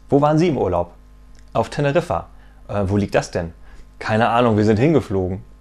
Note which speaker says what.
Speaker 1: Wo waren Sie im Urlaub? Auf Teneriffa. Wo liegt das denn? Keine Ahnung, wir sind hingeflogen.